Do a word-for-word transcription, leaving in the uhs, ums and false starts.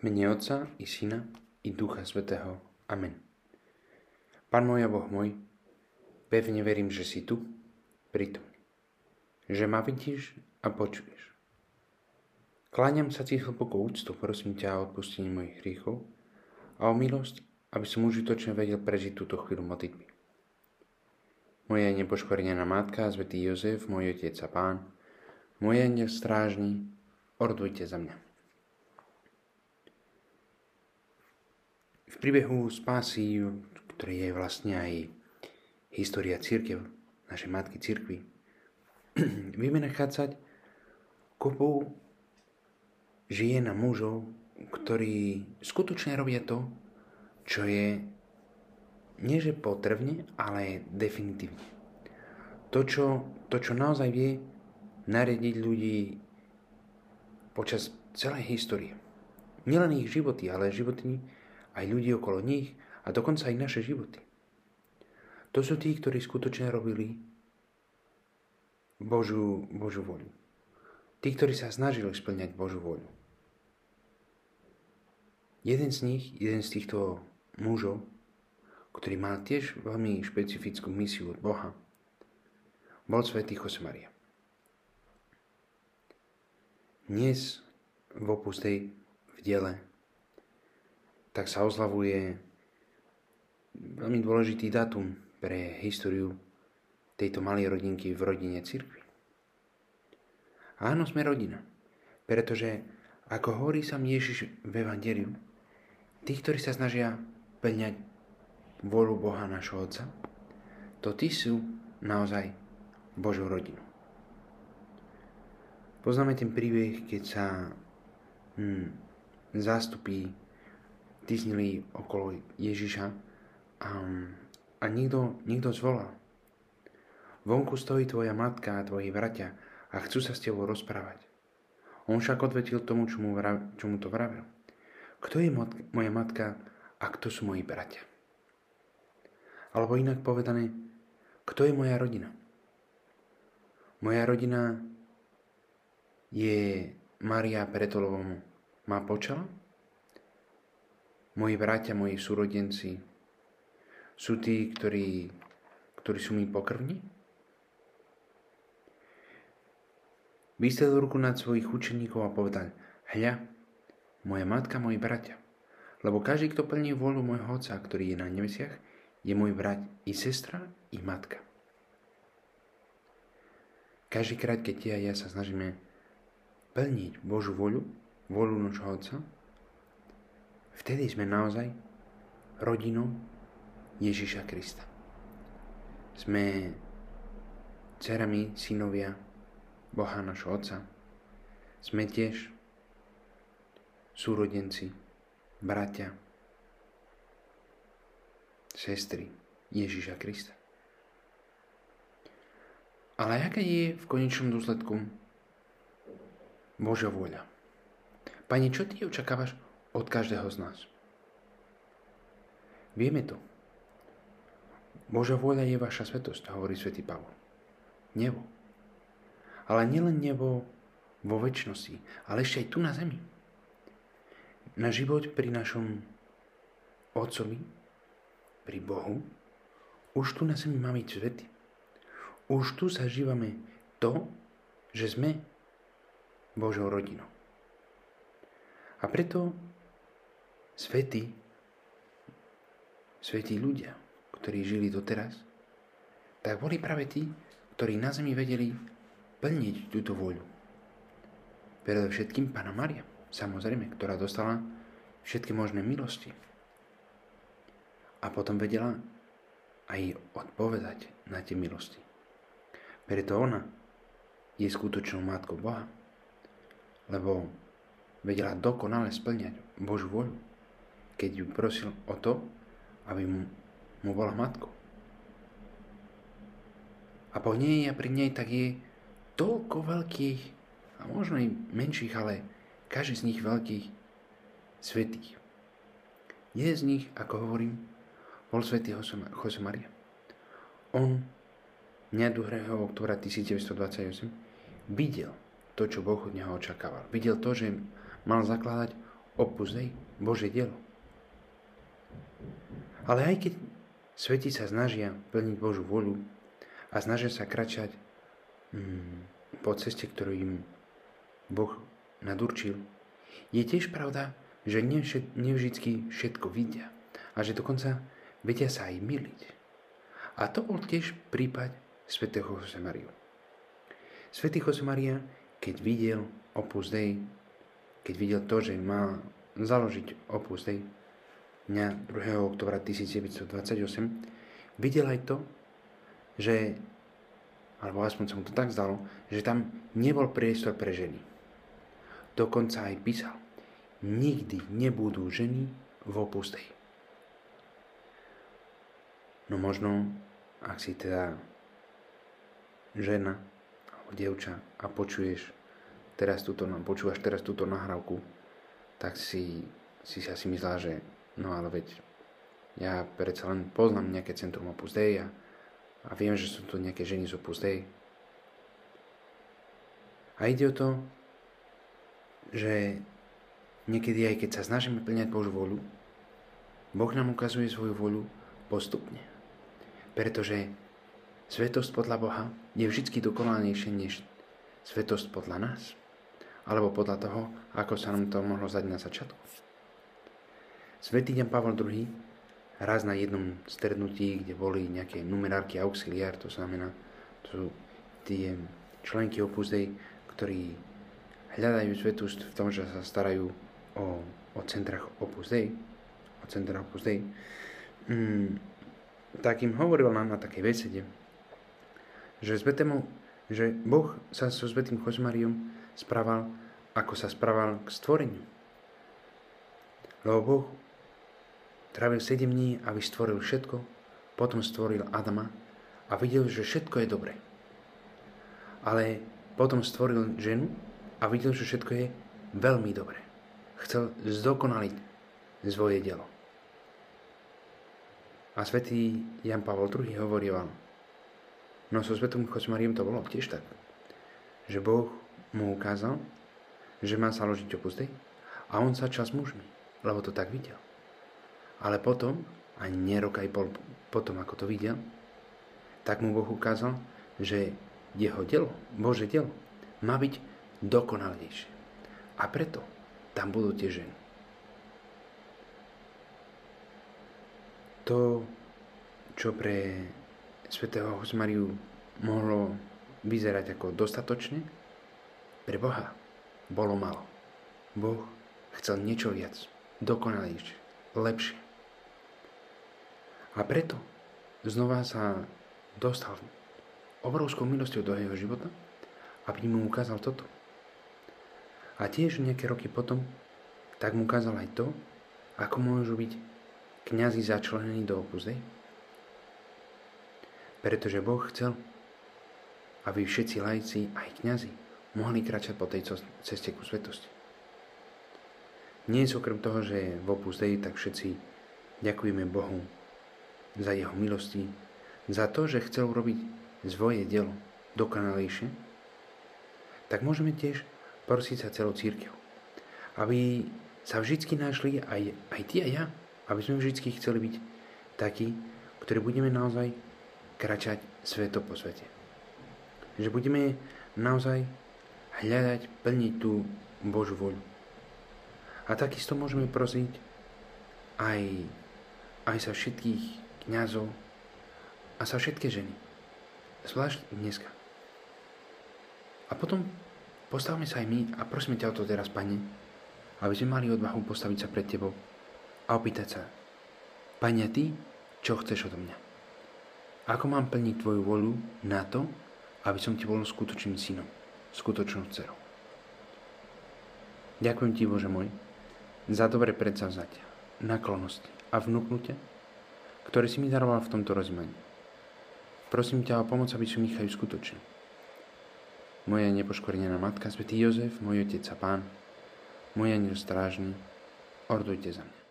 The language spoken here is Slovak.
Mene Otca i Syna i Ducha Svätého. Amen. Pán môj a Boh môj, pevne verím, že si tu, prítomný. Že ma vidíš a počuješ. Kláňam sa ti hlbokou úctou, prosím ťa o odpustenie mojich hriechov a o milosť, aby som užitočne vedel prežiť túto chvíľu modlitby. Moja nepoškvrnená matka, svätý Jozef, môj otec a pán, môj anjel strážny, ordujte za mňa. V príbehu spásy, ktorý je vlastne aj história cirkev, našej matky cirkvi, vieme nachádzať kopu žien a mužov, ktorí skutočne robia to, čo je nie že potrebne, ale definitívne. To, čo, to, čo naozaj vie nariadiť ľudí počas celej histórie. Nielen ich životy, ale životy aj ľudí okolo nich a dokonca aj naše životy. To sú tí, ktorí skutočne robili Božiu, Božiu voľu. Tí, ktorí sa snažili splňať Božiu voľu. Jeden z nich, jeden z týchto mužov, ktorý mal tiež veľmi špecifickú misiu od Boha, bol svätý Josemaria. Dnes v Opus Dei v diele tak sa oslavuje veľmi dôležitý dátum pre históriu tejto malej rodinky v rodine cirkvi. Áno, sme rodina, pretože ako hovorí sám Ježiš v Evangeliu, tí, ktorí sa snažia plňať vôľu Boha nášho Otca, to tí sú naozaj Božou rodinou. Poznáme ten príbeh, keď sa hm, zástupy tisnili okolo Ježiša a, a niekto, niekto zvolal. Vonku stojí tvoja matka a tvoji bratia a chcú sa s tebou rozprávať. On však odvetil tomu, čo mu, vrav, čo mu to vravel. Kto je mat, moja matka a kto sú moji bratia? Alebo inak povedané, kto je moja rodina? Moja rodina je Mária Pretolová, má počala? Moji bratia, moji súrodenci sú tí, ktorí, ktorí sú mi pokrvní? Vystrel ruku nad svojich učeníkov a povedal: Hľa, moja matka, moji bratia, lebo každý, kto plní vôľu môjho Otca, ktorý je na nebesiach, je môj brat i sestra i matka. Každý krát, keď ty a ja sa snažíme plniť Božiu voľu, voľu nášho Otca, vtedy sme naozaj rodinou Ježiša Krista. Sme dcerami, synovia Boha nášho Otca. Sme tiež súrodenci, bratia, sestry Ježiša Krista. Ale aká je v konečnom dôsledku Božia vôľa? Pane, čo ty očakávaš od každého z nás? Vieme to. Božia vôľa je vaša svätosť, hovorí svätý Pavol. Nebo. Ale nielen nebo vo večnosti, ale ešte aj tu na zemi. Na život pri našom Otcovi, pri Bohu, už tu na zemi má byť svätý. Už tu zažívame to, že sme Božou rodinou. A preto svätí, svätí ľudia, ktorí žili doteraz, tak boli práve tí, ktorí na zemi vedeli plniť túto voľu. Predovšetkým Panna Mária, samozrejme, ktorá dostala všetky možné milosti. A potom vedela aj odpovedať na tie milosti. Preto ona je skutočnou matkou Boha, lebo vedela dokonale splňať Božiu voľu, keď ju prosil o to, aby mu, mu bola matkou. A po nej a pri nej tak je toľko veľkých, a možno aj menších, ale každý z nich veľkých svätých. Jeden z nich, ako hovorím, bol svätý Josemaria. On dňa druhého októbra tisícdeväťstodvadsaťosem videl to, čo Boh od neho očakával. Videl to, že mal zakladať Opus Dei, Božie dielo. Ale aj keď sveti sa snažia plniť Božiu voľu a snažia sa kračať mm, po ceste, ktorú im Boh nadurčil, je tiež pravda, že nevždycky všetko vidia a že dokonca vedia sa aj myliť. A to bol tiež prípad svätého Josemariu. Svätý Josemaria, keď videl Opus Dei, keď videl to, že mal založiť Opus Dei dňa druhého októbra tisícdeväťstodvadsaťosem, videl aj to, že, alebo aspoň sa mu to tak zdalo, že tam nebol priestor pre ženy. Dokonca aj písal, nikdy nebudú ženy v Opus Dei. No možno, ak si teda žena alebo dievča a počuješ teraz túto, počúvaš teraz túto nahrávku, tak si, si si asi myslela, že no ale veď ja predsa len poznám nejaké centrum Opus Dei a, a viem, že sú tu nejaké ženy z Opus Dei. A ide o to, že niekedy aj keď sa snažíme plňať Božiu voľu, Boh nám ukazuje svoju voľu postupne. Pretože svetosť podľa Boha je vždy dokonalejšia než svetosť podľa nás, alebo podľa toho, ako sa nám to mohlo zdať na začiatku. Svätý Jan Pavol druhý raz na jednom stretnutí, kde boli nejaké numerárky auxiliár, to znamená, to sú tie členky Opus Dei, ktorí hľadajú svetosť v tom, že sa starajú o, o centrách Opus Dei, o centrách Opus Dei, mm, tak im hovoril nám na takej besede, že, svetému, že Boh sa so svätým Josemariom správal, ako sa správal k stvoreniu. Lebo Boh trávil sedem dní, aby stvoril všetko, potom stvoril Adama a videl, že všetko je dobré. Ale potom stvoril ženu a videl, že všetko je veľmi dobré. Chcel zdokonaliť svoje dielo. A svätý Jan Pavol druhý hovoril, no so svätým Josemariom to bolo tiež tak, že Boh mu ukázal, že má založiť Opus Dei a on začal s mužmi, lebo to tak videl. Ale potom, ani nie rok aj pol potom, ako to videl, tak mu Boh ukázal, že jeho dielo, Božie dielo, má byť dokonalejšie. A preto tam budú tie ženy. To, čo pre svätého Josemariu mohlo vyzerať ako dostatočne, pre Boha bolo málo. Boh chcel niečo viac, dokonalejšie, lepšie. A preto znova sa dostal obrovskou milosťou do jeho života, aby mu ukázal toto. A tiež nejaké roky potom, tak mu ukázal aj to, ako môžu byť kňazi začlenení do Opus Dei. Pretože Boh chcel, aby všetci laici, aj kňazi, mohli kráčať po tej ceste ku svetosti. Nie je okrem toho, že v Opus Dei, tak všetci ďakujeme Bohu za jeho milosti, za to, že chcel urobiť svoje dielo dokonalejšie, tak môžeme tiež prosiť sa celou cirkev, aby sa vždycky našli aj, aj ty a ja, aby sme vždy chceli byť takí, ktorí budeme naozaj kračať sveto po svete. Že budeme naozaj hľadať, plniť tú Božiu voľu. A takisto môžeme prosiť aj, aj sa všetkých kňazov a sa všetky ženy. Zvlášť dneska. A potom postavme sa aj my a prosíme ťa o to teraz, Pane, aby sme mali odvahu postaviť sa pred Tebou a opýtať sa, Pane, Ty, čo chceš odo mňa? Ako mám plniť Tvoju voľu na to, aby som Ti bol skutočným synom, skutočnou dcerou? Ďakujem Ti, Bože môj, za dobré predsavzatia, naklonosti a vnúknutia, ktoré si mi daroval v tomto rozjímaní. Prosím ťa o pomoc, aby som ich aj skutočnil. Moja nepoškvrnená matka, svätý Jozef, môj otec a pán, môj anjel strážny, ordujte za mňa.